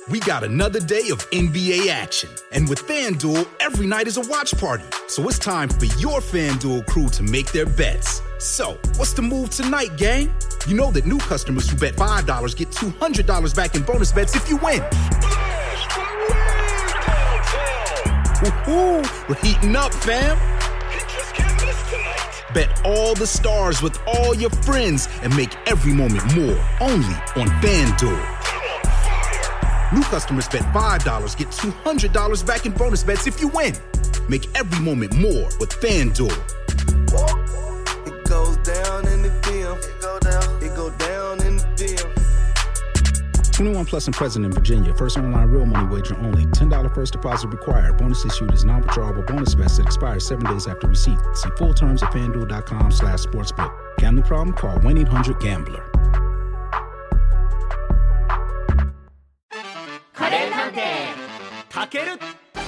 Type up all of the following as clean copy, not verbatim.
We got another day of NBA action. And with FanDuel, every night is a watch party. So it's time for your FanDuel crew to make their bets. So, what's the move tonight, gang? You know that new customers who bet $5 get $200 back in bonus bets if you win. Woohoo! We're heating up, fam. Bet all the stars with all your friends and make every moment more. Only on FanDuel. New customers bet $5, get $200 back in bonus bets if you win. Make every moment more with FanDuel. It goes down in the DM. It go down in the DM. 21 plus and present in Virginia. First online real money wager only. $10 first deposit required. Bonus issued is non-withdrawable bonus vest that expires 7 days after receipt. See full terms at FanDuel.com/sportsbook. Gambling problem? Call 1-800-GAMBLER. カレー探偵たける。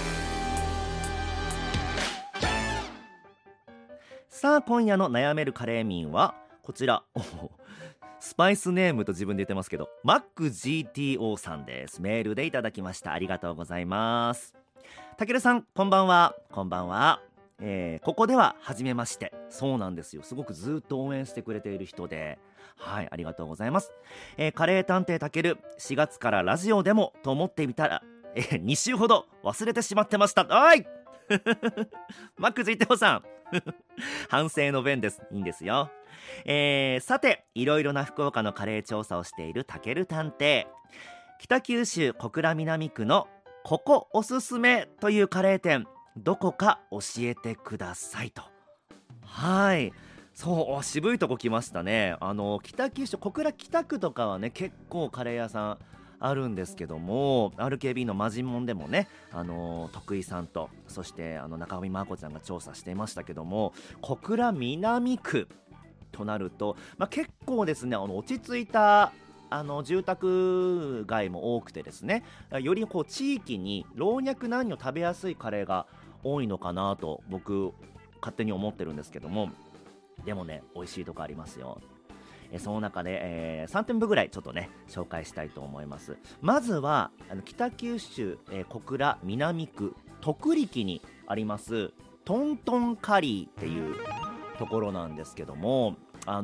さあ今夜の悩めるカレー民はこちら。スパイスネームと自分で言ってますけど MacGTO さんです。メールでいただきました。ありがとうございます。たけるさんこんばんは。こんばんは。ここでは初めまして。そうなんですよ。すごくずっと応援してくれている人で、はい、ありがとうございます。カレー探偵たける4月からラジオでもと思ってみたら、2週ほど忘れてしまってました。おいMacGTO さん反省の弁です。いいんですよ。さていろいろな福岡のカレー調査をしているたける探偵。北九州小倉南区のここおすすめというカレー店、どこか教えてくださいと。はい、そう渋いとこ来ましたね。北九州小倉北区とかはね結構カレー屋さんあるんですけども、 RKB のマジモンでもね徳井さんとそして中上真子ちゃんが調査していましたけども、小倉南区となると、結構ですね落ち着いた住宅街も多くてですね、よりこう地域に老若男女食べやすいカレーが多いのかなと僕勝手に思ってるんですけども、でもね美味しいとこありますよ。その中で、3店舗ぐらいちょっとね紹介したいと思います。まずは北九州、小倉南区徳力にありますトントンカリーっていうところなんですけども、ト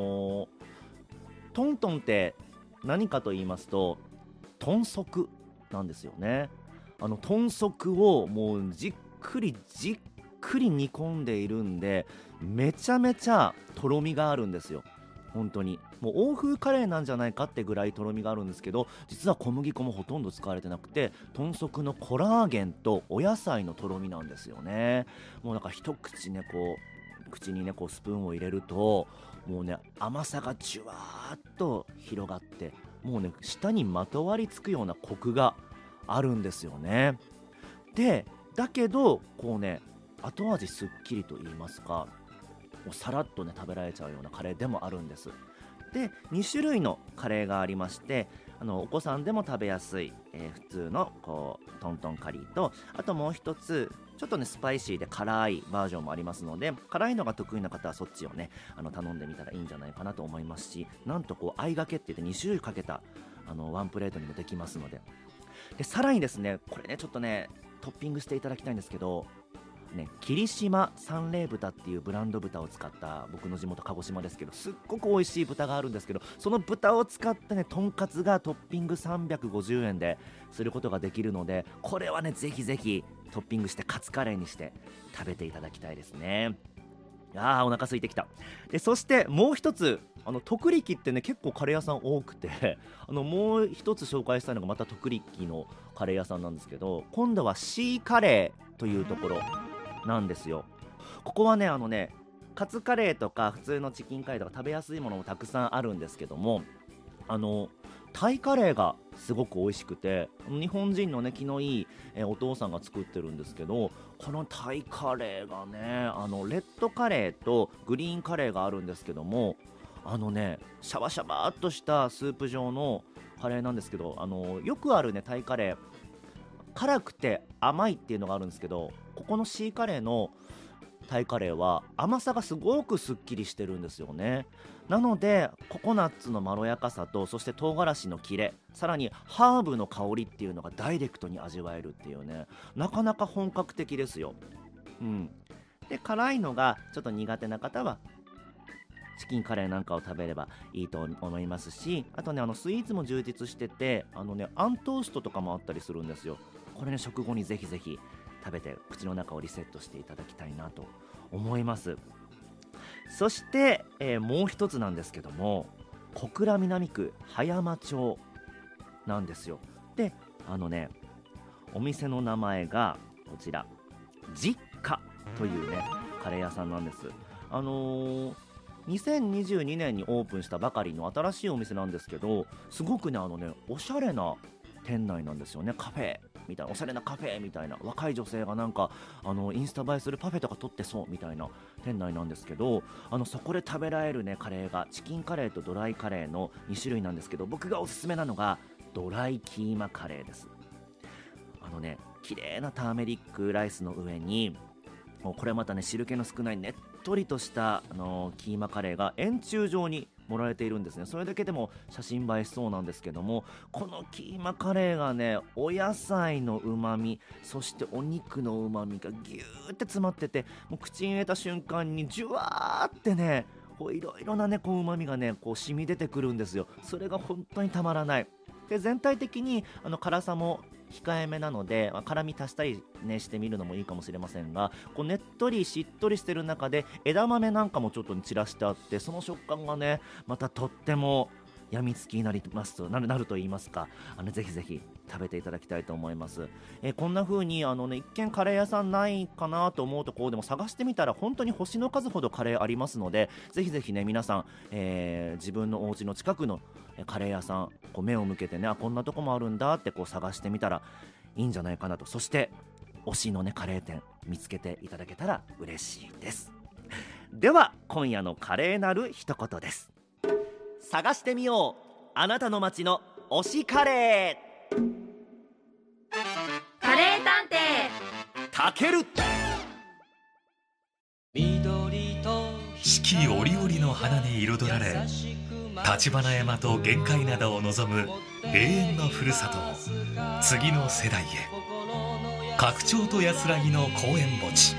ントンって何かと言いますと豚足なんですよね。豚足をもうじっくり煮込んでいるんで、めちゃめちゃとろみがあるんですよ。本当にもう欧風カレーなんじゃないかってぐらいとろみがあるんですけど、実は小麦粉もほとんど使われてなくて、豚足のコラーゲンとお野菜のとろみなんですよね。もうなんか一口ねこう口にねこうスプーンを入れるともうね甘さがじゅわーっと広がって、もうね舌にまとわりつくようなコクがあるんですよね。でだけどこうね後味すっきりと言いますか、もうさらっとね食べられちゃうようなカレーでもあるんです。で2種類のカレーがありまして、お子さんでも食べやすい、普通のこうトントンカリーと、あともう一つちょっとねスパイシーで辛いバージョンもありますので、辛いのが得意な方はそっちをね頼んでみたらいいんじゃないかなと思いますし、なんとこう相掛けって言って2種類かけたワンプレートにもできますので、でさらにですねこれねちょっとねトッピングしていただきたいんですけどね、霧島三霊豚っていうブランド豚を使った、僕の地元鹿児島ですけどすっごく美味しい豚があるんですけど、その豚を使ったねとんかつがトッピング350円ですることができるので、これはねぜひぜひトッピングしてカツカレーにして食べていただきたいですね。お腹空いてきた。でそしてもう一つ徳力ってね結構カレー屋さん多くてもう一つ紹介したいのがまた徳力のカレー屋さんなんですけど、今度はシーカレーというところなんですよ。ここはねカツカレーとか普通のチキンカレーとか食べやすいものもたくさんあるんですけども、タイカレーがすごく美味しくて、日本人のね気のいい、お父さんが作ってるんですけど、このタイカレーがねレッドカレーとグリーンカレーがあるんですけども、シャバシャバーっとしたスープ状のカレーなんですけど、よくあるねタイカレー辛くて甘いっていうのがあるんですけど、ここのシーカレーのタイカレーは甘さがすごくすっきりしてるんですよね。なのでココナッツのまろやかさと、そして唐辛子のキレ、さらにハーブの香りっていうのがダイレクトに味わえるっていうね、なかなか本格的ですよ。で辛いのがちょっと苦手な方はチキンカレーなんかを食べればいいと思いますし、あとねスイーツも充実してて、あんトーストとかもあったりするんですよ。これね食後にぜひぜひ食べて口の中をリセットしていただきたいなと思います。そして、もう一つなんですけども、小倉南区葉山町なんですよ。でお店の名前がこちら実家というねカレー屋さんなんです。2022年にオープンしたばかりの新しいお店なんですけど、すごくねおしゃれな店内なんですよね。カフェみたいな、おしゃれなカフェみたいな、若い女性がなんかインスタ映えするパフェとか撮ってそうみたいな店内なんですけど、そこで食べられるねカレーがチキンカレーとドライカレーの2種類なんですけど、僕がおすすめなのがドライキーマカレーです。綺麗なターメリックライスの上に、これまたね汁気の少ないねっとりとしたキーマカレーが円柱状に盛られているんですね。それだけでも写真映えしそうなんですけども、このキーマカレーがねお野菜のうまみ、そしてお肉のうまみがギューって詰まってて、もう口に入れた瞬間にジュワーってねいろいろなねうまみがね染み出てくるんですよ。それが本当にたまらない。で全体的に辛さも控えめなので、辛み足したり、ね、してみるのもいいかもしれませんが、ねっとりしっとりしてる中で枝豆なんかもちょっと散らしてあって、その食感がねまたとってもやみつきになると言いますか、ぜひぜひ食べていただきたいと思います。こんな風に一見カレー屋さんないかなと思うところでも探してみたら本当に星の数ほどカレーありますので、ぜひぜひね皆さん、自分のお家の近くのカレー屋さん目を向けてね、こんなとこもあるんだって探してみたらいいんじゃないかなと。そして推しのねカレー店見つけていただけたら嬉しいです。では今夜のカレーなる一言です。探してみよう、あなたの街の推しカレー。 カレー探偵たける。 四季折々の花に彩られ、橘山と玄界灘を望む永遠のふるさとを次の世代へ。拡張と安らぎの公園墓地。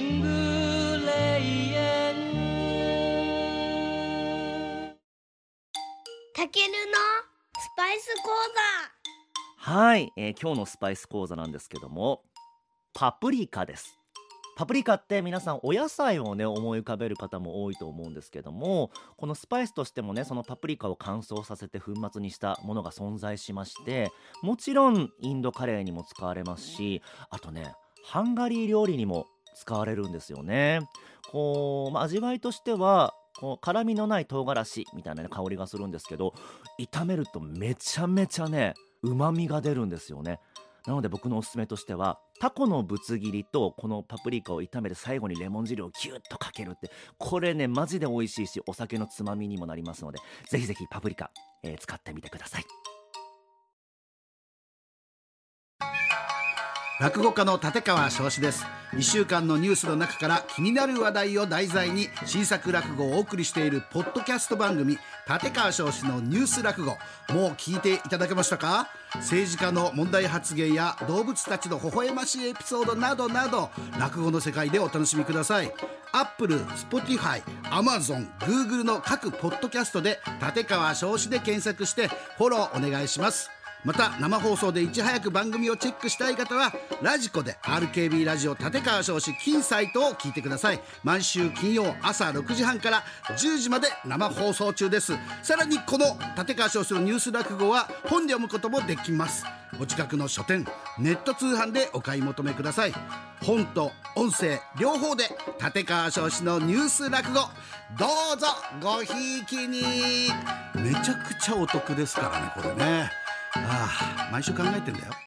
たけるのスパイス講座。 はい、今日のスパイス講座なんですけども、パプリカです。パプリカって皆さんお野菜をね思い浮かべる方も多いと思うんですけども、このスパイスとしてもねそのパプリカを乾燥させて粉末にしたものが存在しまして、もちろんインドカレーにも使われますし、あとねハンガリー料理にも使われるんですよね。味わいとしては辛みのない唐辛子みたいな、ね、香りがするんですけど、炒めるとめちゃめちゃね旨味が出るんですよね。なので僕のおすすめとしては、タコのぶつ切りとこのパプリカを炒めて最後にレモン汁をギュッとかけるって、これねマジで美味しいしお酒のつまみにもなりますので、ぜひぜひパプリカ、使ってみてください。 落語家の立川翔志です。1週間のニュースの中から気になる話題を題材に新作落語をお送りしているポッドキャスト番組、立川翔志のニュース落語、もう聞いていただけましたか？政治家の問題発言や動物たちの微笑ましいエピソードなどなど、落語の世界でお楽しみください。Apple、Spotify、Amazon、Google の各ポッドキャストで立川翔志で検索してフォローお願いします。また生放送でいち早く番組をチェックしたい方はラジコで RKB ラジオ立川翔志金サイトを聞いてください。毎週金曜朝6時半から10時まで生放送中です。さらにこの立川翔志のニュース落語は本で読むこともできます。お近くの書店、ネット通販でお買い求めください。本と音声両方で立川翔志のニュース落語、どうぞごひいきに。めちゃくちゃお得ですからねこれね。毎週考えてんだよ。